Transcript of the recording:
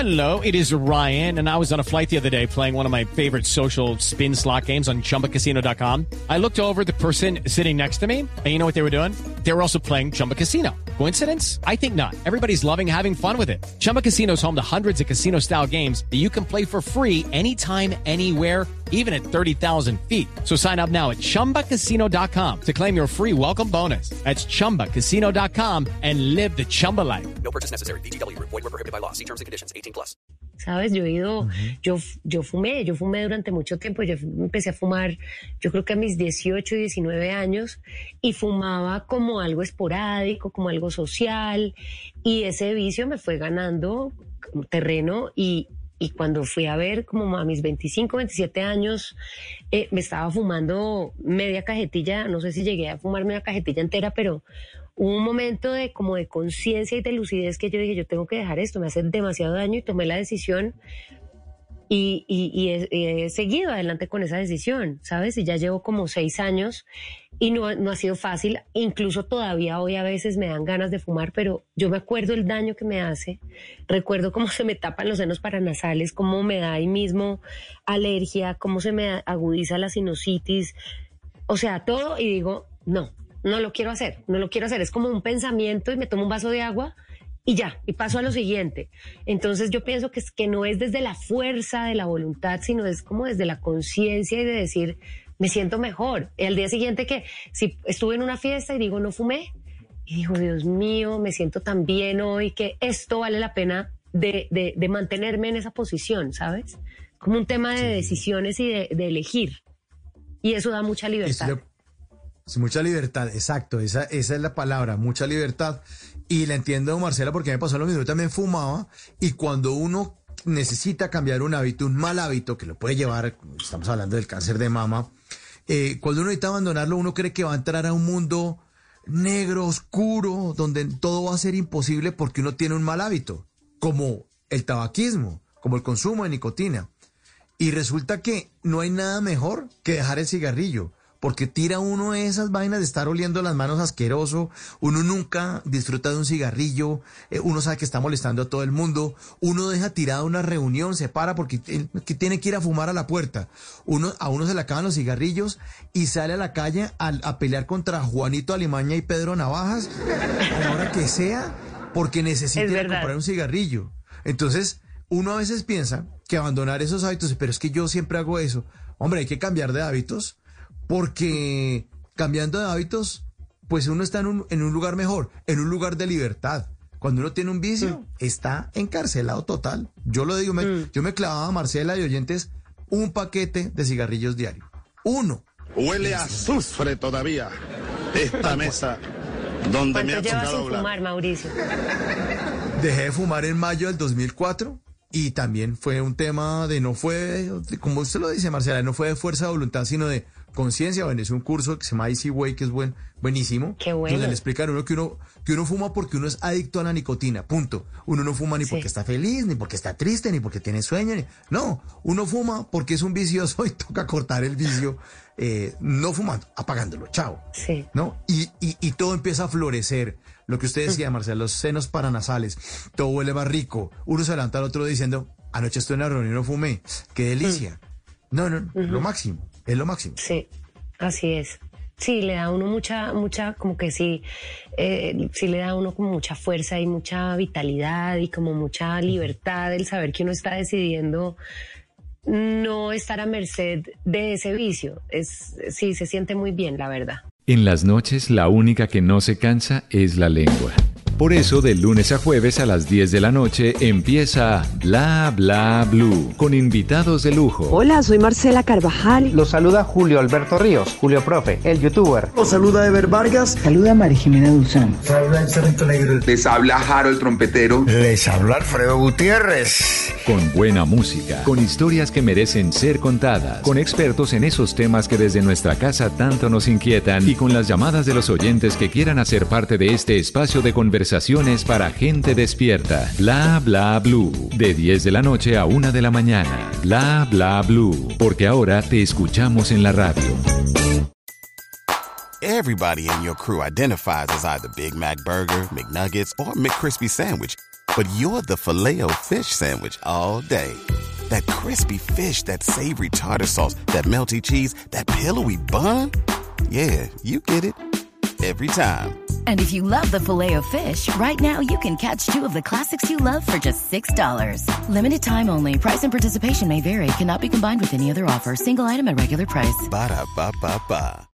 Hello, it is Ryan, and I was on a flight the other day playing one of my favorite social spin slot games on ChumbaCasino.com. I looked over at the person sitting next to me, and you know what they were doing? They were also playing Chumba Casino. Coincidence? I think not. Everybody's loving having fun with it. Chumba Casino is home to hundreds of casino-style games that you can play for free anytime, anywhere, even at 30,000 feet. So sign up now at ChumbaCasino.com to claim your free welcome bonus. That's ChumbaCasino.com and live the Chumba life. No purchase necessary. VGW. Void were prohibited by law. See terms and conditions. 18+. ¿Sabes? Yo fumé durante mucho tiempo. Yo empecé a fumar, yo creo que a mis 18, 19 años, y fumaba como algo esporádico, como algo social, y ese vicio me fue ganando terreno y cuando fui a ver como a mis 25, 27 años, me estaba fumando media cajetilla, no sé si llegué a fumarme una cajetilla entera, pero hubo un momento de como de conciencia y de lucidez que yo dije, yo tengo que dejar esto, me hace demasiado daño, y tomé la decisión y he seguido adelante con esa decisión, ¿sabes? Y ya llevo como 6 años y no ha sido fácil, incluso todavía hoy a veces me dan ganas de fumar, pero yo me acuerdo el daño que me hace, recuerdo cómo se me tapan los senos paranasales, cómo me da ahí mismo alergia, cómo se me agudiza la sinusitis, o sea, todo, y digo, no lo quiero hacer, es como un pensamiento y me tomo un vaso de agua y ya, y paso a lo siguiente. Entonces yo pienso que no es desde la fuerza de la voluntad, sino es como desde la conciencia y de decir, me siento mejor. Y al día siguiente que si estuve en una fiesta y digo, no fumé, y digo, Dios mío, me siento tan bien hoy que esto vale la pena de mantenerme en esa posición, ¿sabes? Como un tema de decisiones y de elegir. Y eso da mucha libertad. Es mucha libertad, exacto, esa es la palabra, mucha libertad. Y la entiendo, Marcela, porque me pasó lo mismo, yo también fumaba, y cuando uno necesita cambiar un hábito, un mal hábito, que lo puede llevar, estamos hablando del cáncer de mama, cuando uno necesita abandonarlo, uno cree que va a entrar a un mundo negro, oscuro, donde todo va a ser imposible porque uno tiene un mal hábito, como el tabaquismo, como el consumo de nicotina. Y resulta que no hay nada mejor que dejar el cigarrillo, porque tira uno esas vainas de estar oliendo las manos asqueroso, uno nunca disfruta de un cigarrillo, uno sabe que está molestando a todo el mundo, uno deja tirada una reunión, se para porque que tiene que ir a fumar a la puerta, a uno se le acaban los cigarrillos y sale a la calle a pelear contra Juanito Alimaña y Pedro Navajas, a la hora que sea, porque necesita ir a comprar un cigarrillo. Entonces, uno a veces piensa que abandonar esos hábitos, pero es que yo siempre hago eso. Hombre, hay que cambiar de hábitos, porque cambiando de hábitos, pues uno está en un lugar mejor, en un lugar de libertad. Cuando uno tiene un vicio, está encarcelado total. Yo lo digo, yo me clavaba, Marcela y oyentes, un paquete de cigarrillos diario. Uno. Huele a azufre todavía esta mesa donde me ha tocado hablar. ¿Cuánto llevas sin fumar, Mauricio? Dejé de fumar en mayo del 2004. Y también fue un tema como usted lo dice, Marcela, no fue de fuerza de voluntad, sino de conciencia. Bueno, es un curso que se llama Easy Way, que es buenísimo. Qué bueno. Donde le explican a uno que uno fuma porque uno es adicto a la nicotina, punto. Uno no fuma ni porque está feliz, ni porque está triste, ni porque tiene sueño. No, uno fuma porque es un vicioso y toca cortar el vicio, no fumando, apagándolo, chao. Sí. ¿No? Y todo empieza a florecer. Lo que usted decía, Marcela, los senos paranasales, todo huele más rico. Uno se levanta al otro día diciendo, anoche estuve en una reunión y no fumé. ¡Qué delicia! No, lo máximo, es lo máximo. Sí, así es. Sí, le da a uno mucha, como que sí le da a uno como mucha fuerza y mucha vitalidad y como mucha libertad el saber que uno está decidiendo no estar a merced de ese vicio. Sí, se siente muy bien, la verdad. En las noches, la única que no se cansa es la lengua. Por eso, de lunes a jueves a las 10 de la noche empieza Bla Bla Blue, con invitados de lujo. Hola, soy Marcela Carvajal. Los saluda Julio Alberto Ríos, Julio Profe, el youtuber. Los saluda Ever Vargas. Saluda María Jimena Duzán. Saluda el Cerrito Negro. Les habla Harold Trompetero. Les habla Alfredo Gutiérrez. Con buena música, con historias que merecen ser contadas, con expertos en esos temas que desde nuestra casa tanto nos inquietan y con las llamadas de los oyentes que quieran hacer parte de este espacio de conversaciones para gente despierta. Bla Bla Blue, de 10 de la noche a 1 de la mañana. Bla Bla Blue, porque ahora te escuchamos en la radio. Everybody in your crew identifies as either Big Mac Burger, McNuggets, or McCrispy Sandwich. but you're the Filet-O-Fish Sandwich all day. That crispy fish, that savory tartar sauce, that melty cheese, that pillowy bun. Yeah, you get it. Every time. And if you love the Filet-O-Fish, right now you can catch 2 of the classics you love for just $6. Limited time only. Price and participation may vary. Cannot be combined with any other offer. Single item at regular price. Ba-da-ba-ba-ba.